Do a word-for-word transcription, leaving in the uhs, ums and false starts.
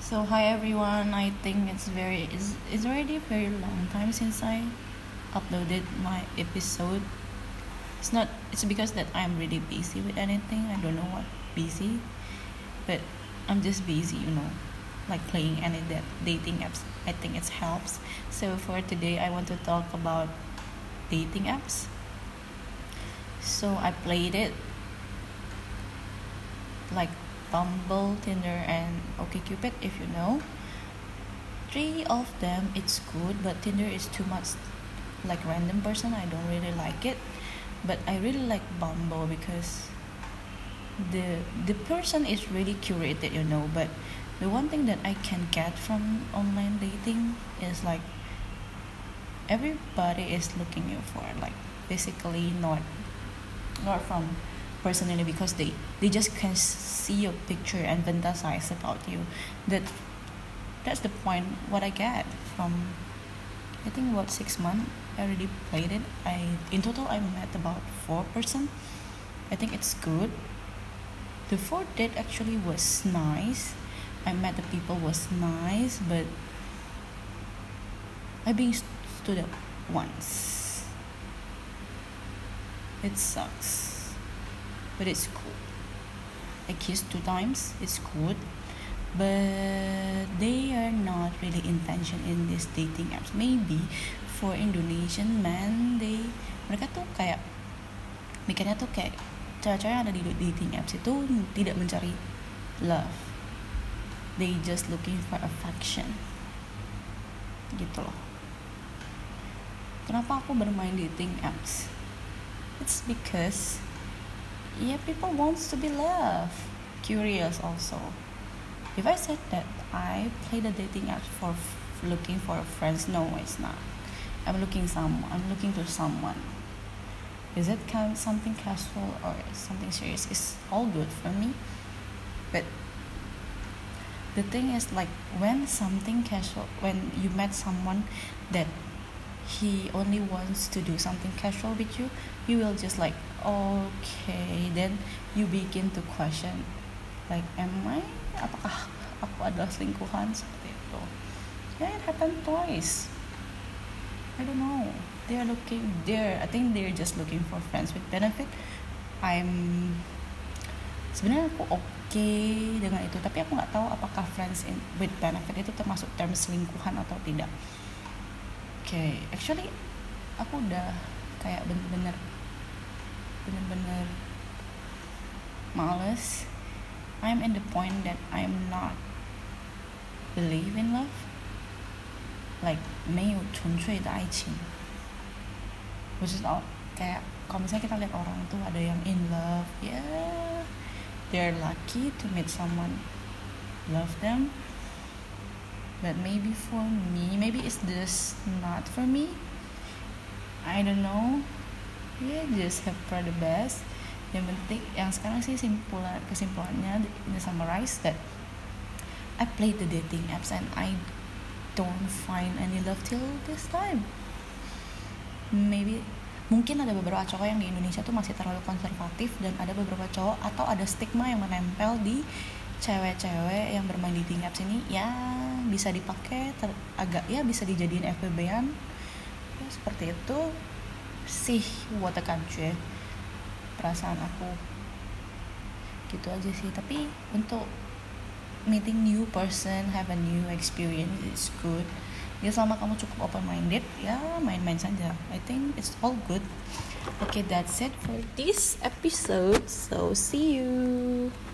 So hi everyone. I think it's very it's, it's already a very long time since I uploaded my episode. It's not it's because that I'm really busy with anything. I don't know what busy, but I'm just busy, you know, like playing any that dating apps. I think it helps. So for today, I want to talk about dating apps. So I played it like Bumble, Tinder, and OkCupid, if you know. Three of them it's good, but Tinder is too much like random person. I don't really like it, but I really like Bumble because the the person is really curated, you know. But the one thing that I can get from online dating is like everybody is looking you for like basically not not from personally because they they just can see your picture and fantasize about you. that that's the point what I get from. I think about six months I already played it. I in total I met about four person. I think it's good. The fourth date actually was nice. I met the people was nice, but I being stood up once. It sucks, but it's cool. I kissed two times. It's good, but they are not really intention in this dating apps. Maybe for Indonesian men, they mereka tuh kayak mikirnya tuh kayak cewek-cewek yang ada di dating apps itu tidak mencari love. They just looking for affection. Gitu loh. Kenapa aku bermain dating apps? It's because yeah, people wants to be loved, curious also. If I said that I play the dating apps for f- looking for friends, no, it's not. I'm looking some. I'm looking to someone. Is it kind something casual or something serious? It's all good for me. But the thing is, like when something casual, when you met someone that he only wants to do something casual with you, you will just like okay, then you begin to question like am I apakah aku adalah selingkuhan seperti itu. Yeah, it happened twice. I don't know, they are looking there I think they're just looking for friends with benefit. I'm sebenarnya aku oke okay dengan itu, tapi aku nggak tahu apakah friends in, with benefit itu termasuk term selingkuhan atau tidak. Okay, actually aku udah kayak bener-bener bener-bener males. I'm in the point that I'm not believe in love, like 没有纯粹的爱情， which is all kayak kalau misalnya kita lihat orang tuh ada yang in love, yeah, they're lucky to meet someone love them. But maybe for me, maybe it's just not for me. I don't know. Yeah, just have for the best. Yang penting, yang sekarang sih simpulan kesimpulannya in the summarize that I played the dating apps and I don't find any love till this time. Maybe mungkin ada beberapa cowok yang di Indonesia tuh masih terlalu konservatif dan ada beberapa cowok atau ada stigma yang menempel di cewek-cewek yang bermain di dating apps ini ya bisa dipakai ter- agak ya bisa dijadiin F W B-an ya, seperti itu sih buat kancuy perasaan aku gitu aja sih. Tapi untuk meeting new person, have a new experience, it's good ya, selama kamu cukup open minded ya main-main saja. I think it's all good. Okay, that's it for this episode, so see you.